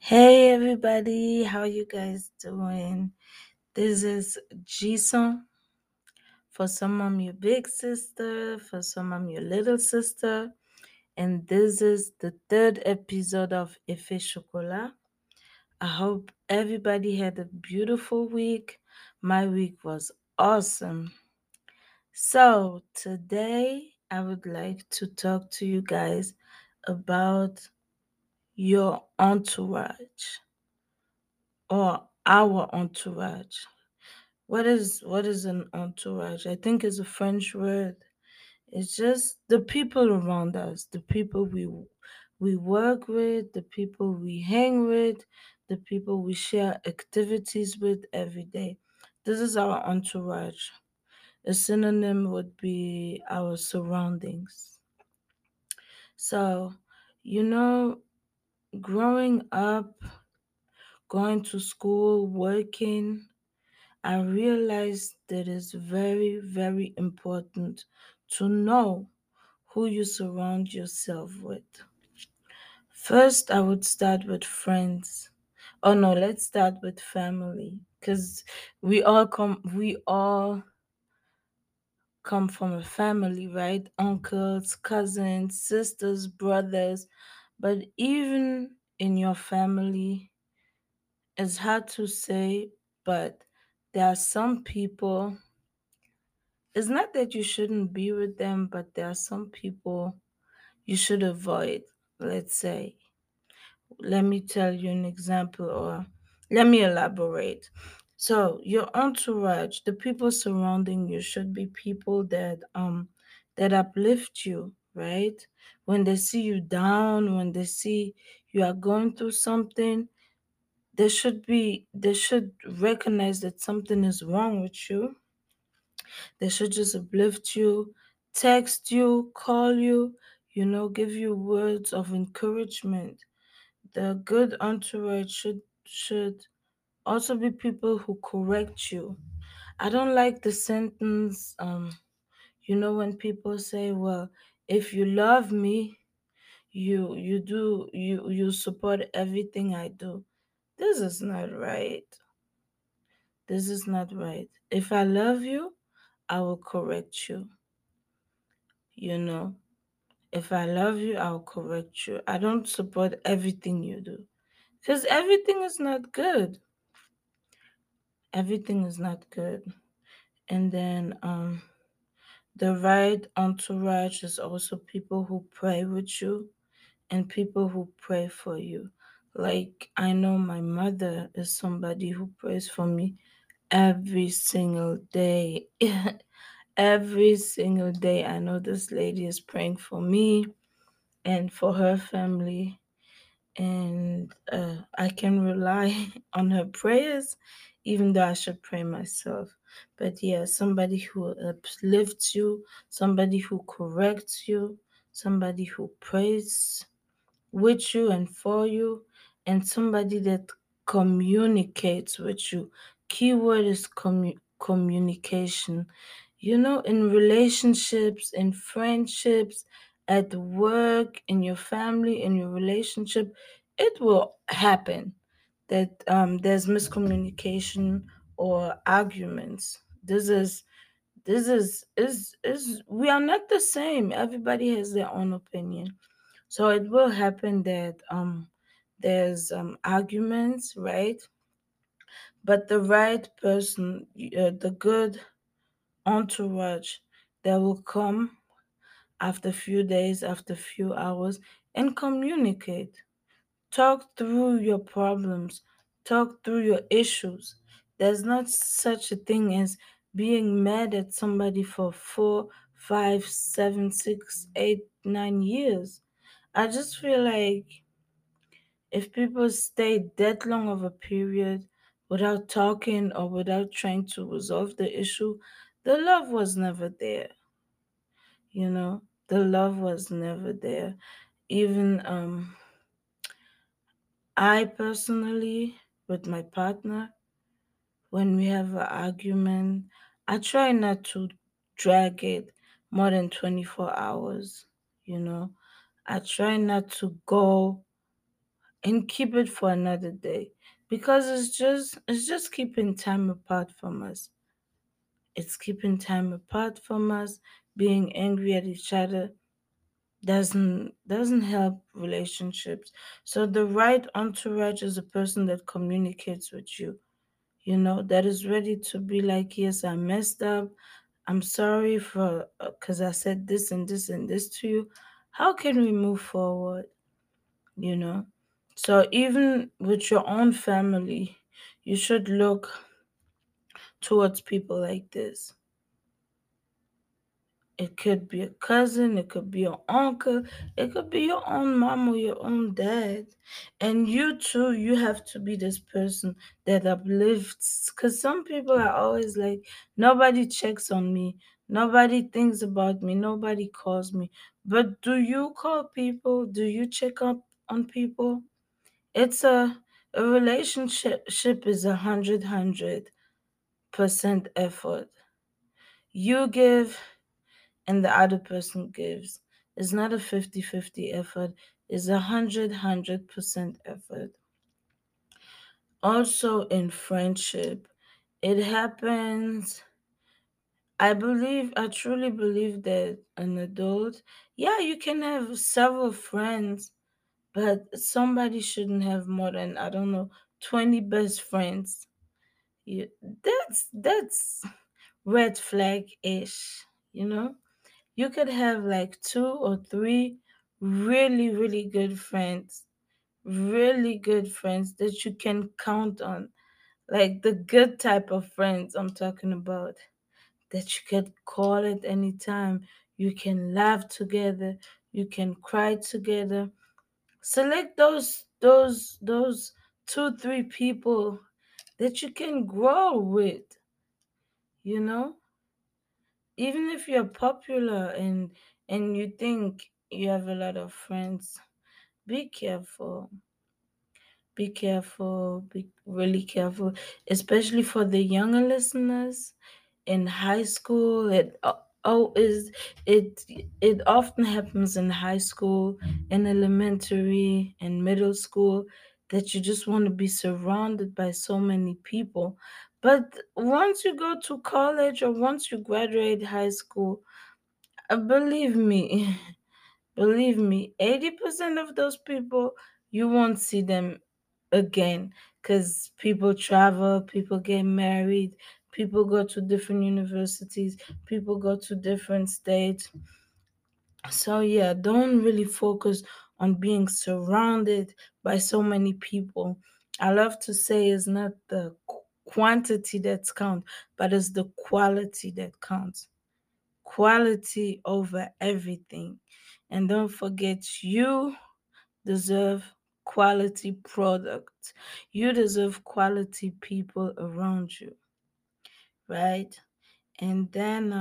Hey everybody, how you guys doing? This is Jason. For some I'm your big sister, for some I'm your little sister, and this is the third episode of Effet Chocolat. I hope everybody had a beautiful week. My week was awesome. So today I would like to talk to you guys about your entourage or our entourage. What is an entourage? I think it's a French word. It's just the people around us, the people we work with, the people we hang with, the people we share activities with every day. This is our entourage. A synonym would be our surroundings. So, you know, growing up, going to school, working, I realized that it's very, very important to know who you surround yourself with. First, I would start with friends. Oh no, let's start with family because we all come from a family, right? Uncles, cousins, sisters, brothers. But even in your family, it's hard to say, but there are some people. It's not that you shouldn't be with them, but there are some people you should avoid. Let's say, let me tell you an example, or let me elaborate. So, your entourage, the people surrounding you, should be people that uplift you, right? When they see you down, when they see you are going through something, they should recognize that something is wrong with you. They should just uplift you, text you, call you, give you words of encouragement. The good entourage should also be people who correct you. I don't like the sentence, when people say, well, if you love me, you support everything I do. This is not right. This is not right. If I love you, I will correct you, you know. If I love you, I'll correct you. I don't support everything you do because everything is not good. Everything is not good. And then the right entourage is also people who pray with you and people who pray for you. Like I know my mother is somebody who prays for me every single day. Every single day I know this lady is praying for me and for her family, and I can rely on her prayers, even though I should pray myself. But yeah, somebody who uplifts you, somebody who corrects you, somebody who prays with you and for you, and somebody that communicates with you. Keyword is communication. In relationships, in friendships, at work, in your family, in your relationship, it will happen that there's miscommunication or arguments. This is we are not the same. Everybody has their own opinion, so it will happen that there's arguments, right? But the right person, the good entourage, that will come after a few days, after a few hours, and communicate. Talk through your problems, talk through your issues. There's not such a thing as being mad at somebody for 4, 5, 7, 6, 8, 9 years. I just feel like if people stay that long of a period without talking or without trying to resolve the issue, the love was never there. The love was never there. Even I personally, with my partner, when we have an argument, I try not to drag it more than 24 hours. you know I try not to go and keep it for another day, because it's just keeping time apart from us. It's keeping time apart from us. Being angry at each other doesn't help relationships. So the right entourage is a person that communicates with you, that is ready to be like, yes, I messed up. I'm sorry for because I said this and this and this to you. How can we move forward? you know so even with your own family, you should look towards people like this. It could be a cousin, it could be your uncle, it could be your own mom or your own dad. And you too, you have to be this person that uplifts. Because some people are always like, nobody checks on me, nobody thinks about me, nobody calls me. But do you call people? Do you check up on people? It's a relationship is 100% effort. You give and the other person gives. It's not a 50-50 effort. It's 100% effort. Also in friendship, it happens. I truly believe that an adult, yeah, you can have several friends, but somebody shouldn't have more than, I don't know, 20 best friends. That's red flag ish, you know? You could have like two or three really, really good friends that you can count on. Like the good type of friends I'm talking about, that you can call at any time. You can laugh together, you can cry together. Select those 2, 3 people that you can grow with, you know? Even if you're popular and you think you have a lot of friends, be careful. Be really careful, especially for the younger listeners in high school. It it often happens in high school, in elementary and middle school, that you just want to be surrounded by so many people. But once you go to college or once you graduate high school, believe me, believe me, 80% of those people, you won't see them again, because people travel, people get married, people go to different universities, people go to different states. So, yeah, don't really focus on being surrounded by so many people. I love to say it's not the quantity that's count, but it's the quality that counts. Quality over everything. And don't forget, you deserve quality products. You deserve quality people around you, right? And then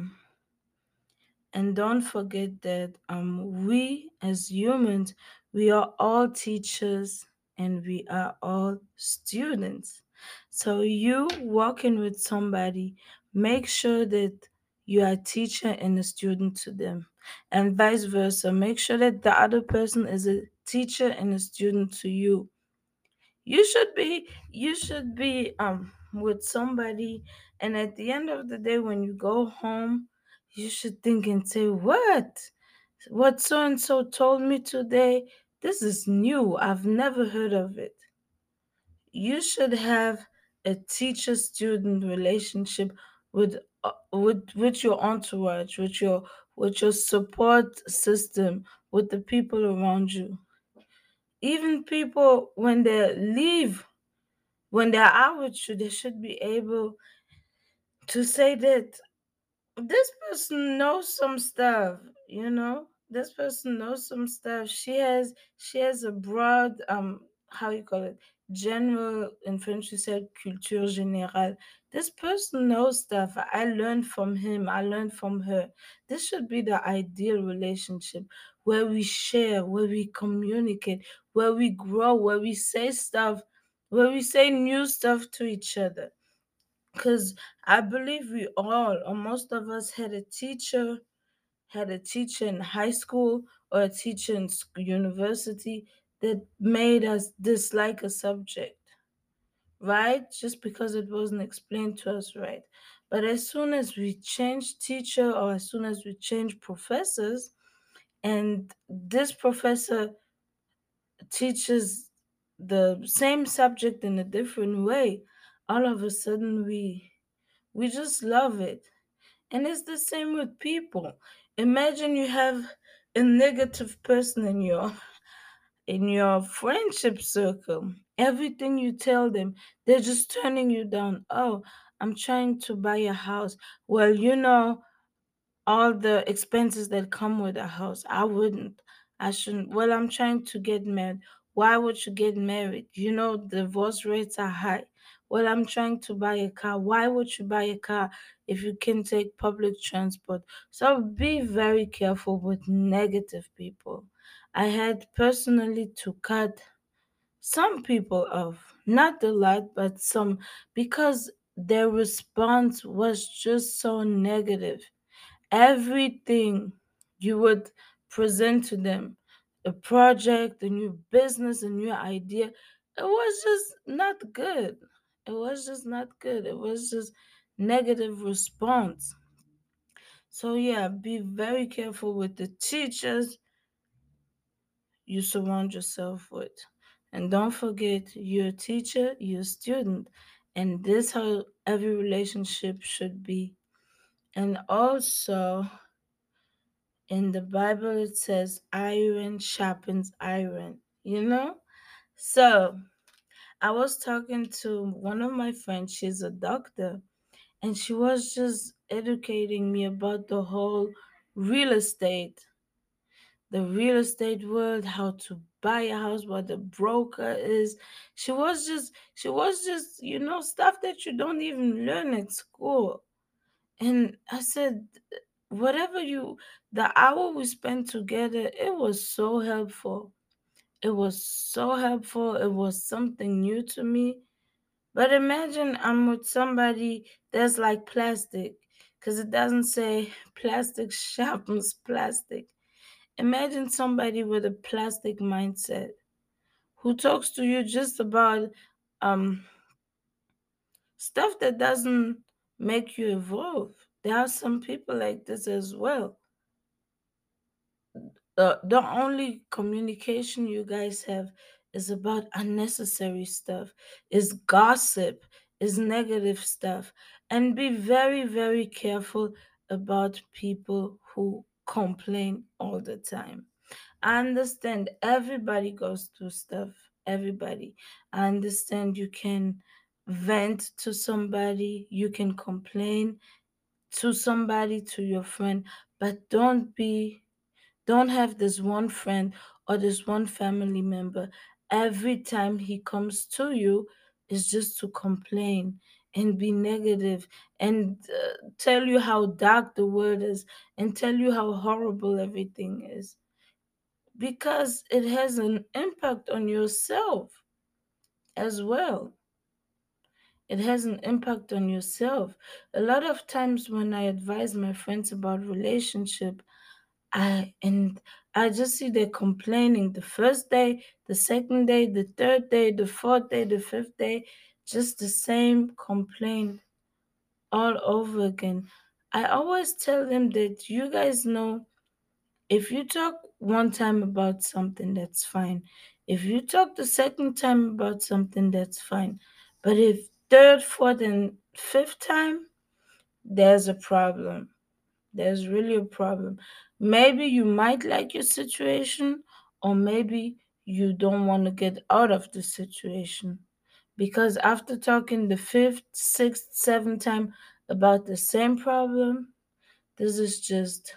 and don't forget that we as humans, we are all teachers and we are all students. So you walking with somebody, make sure that you are a teacher and a student to them. And vice versa. Make sure that the other person is a teacher and a student to you. You should be with somebody, and at the end of the day when you go home, you should think and say, what so and so told me today, this is new, I've never heard of it. You should have a teacher student relationship with your entourage, with your support system, with the people around you. Even people when they leave, when they're out with you, they should be able to say that this person knows some stuff, this person knows some stuff. She has a broad, how you call it, general, in French you said culture générale. This person knows stuff. I learned from him, I learned from her. This should be the ideal relationship, where we share, where we communicate, where we grow, where we say stuff, where we say new stuff to each other. Because I believe we all, or most of us, had a teacher in high school or a teacher in university that made us dislike a subject, right? Just because it wasn't explained to us right. But as soon as we change teacher or as soon as we change professors, and this professor teaches the same subject in a different way, all of a sudden we just love it. And it's the same with people. Imagine you have a negative person in your friendship circle. Everything you tell them, they're just turning you down. Oh, I'm trying to buy a house. Well, all the expenses that come with a house. I wouldn't. I shouldn't. Well, I'm trying to get married. Why would you get married? Divorce rates are high. Well, I'm trying to buy a car. Why would you buy a car if you can take public transport? So be very careful with negative people. I had personally to cut some people off, not a lot, but some, because their response was just so negative. Everything you would present to them, a project, a new business, a new idea, it was just not good. It was just not good. It was just negative response. So yeah, be very careful with the teachers you surround yourself with. And don't forget, you're a teacher, you're a student. And this how every relationship should be. And also, in the Bible, it says iron sharpens iron, you know? So I was talking to one of my friends, she's a doctor, and she was just educating me about real estate, the real estate world, how to buy a house, what the broker is. She was just, stuff that you don't even learn at school. And I said, whatever the hour we spent together, it was so helpful. It was so helpful. It was something new to me. But imagine I'm with somebody that's like plastic, because it doesn't say plastic sharpens plastic. Imagine somebody with a plastic mindset who talks to you just about um stuff that doesn't make you evolve. There are some people like this as well. The only communication you guys have is about unnecessary stuff, is gossip, is negative stuff. And be very, very careful about people who complain all the time. I understand everybody goes through stuff. Everybody. I understand you can vent to somebody, you can complain to somebody, to your friend, but don't have this one friend or this one family member every time he comes to you is just to complain and be negative and tell you how dark the world is and tell you how horrible everything is, because it has an impact on yourself as well. It has an impact on yourself. A lot of times when I advise my friends about relationship, and I just see they're complaining the first day, the second day, the third day, the fourth day, the fifth day, just the same complaint all over again. I always tell them that you guys know, if you talk one time about something, that's fine. If you talk the second time about something, that's fine. But if third, fourth, and fifth time, there's a problem. There's really a problem. Maybe you might like your situation, or maybe you don't want to get out of the situation. Because after talking the fifth, sixth, seventh time about the same problem, this is just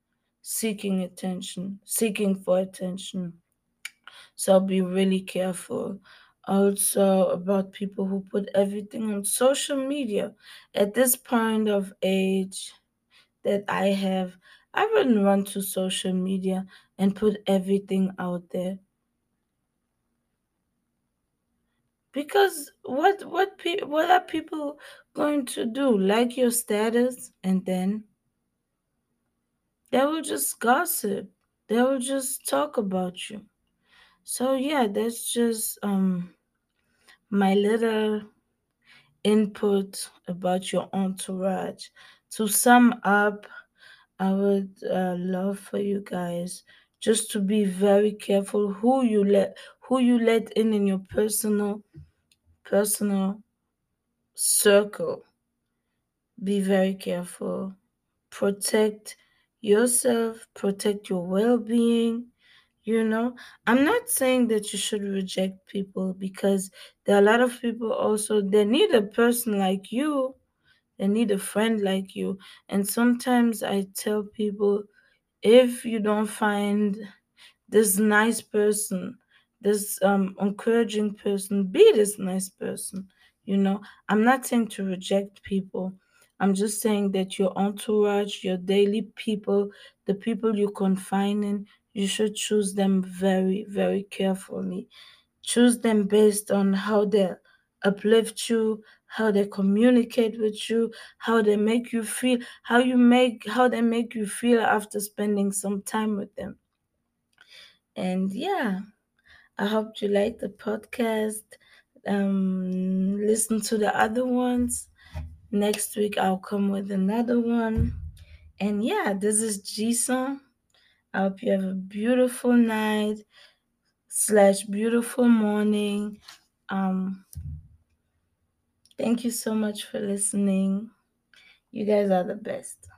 seeking for attention. So be really careful. Also, about people who put everything on social media. At this point of age, that I wouldn't run to social media and put everything out there, because what are people going to do? Like your status, and then they will just gossip. They will just talk about you. So yeah, that's just my little input about your entourage. To sum up, I would love for you guys just to be very careful who you let in your personal circle. Be very careful. Protect yourself, protect your well-being. You know, I'm not saying that you should reject people, because there are a lot of people also, they need a person like you, they need a friend like you. And sometimes I tell people, if you don't find this nice person, this encouraging person, be this nice person. You know, I'm not saying to reject people. I'm just saying that your entourage, your daily people, the people you confine in, you should choose them very, very carefully. Choose them based on how they uplift you, how they communicate with you, how they make you feel, how they make you feel after spending some time with them. And yeah, I hope you like the podcast. Listen to the other ones. Next week I'll come with another one. And yeah, this is Jason. I hope you have a beautiful night slash beautiful morning. Um, Thank you so much for listening. You guys are the best.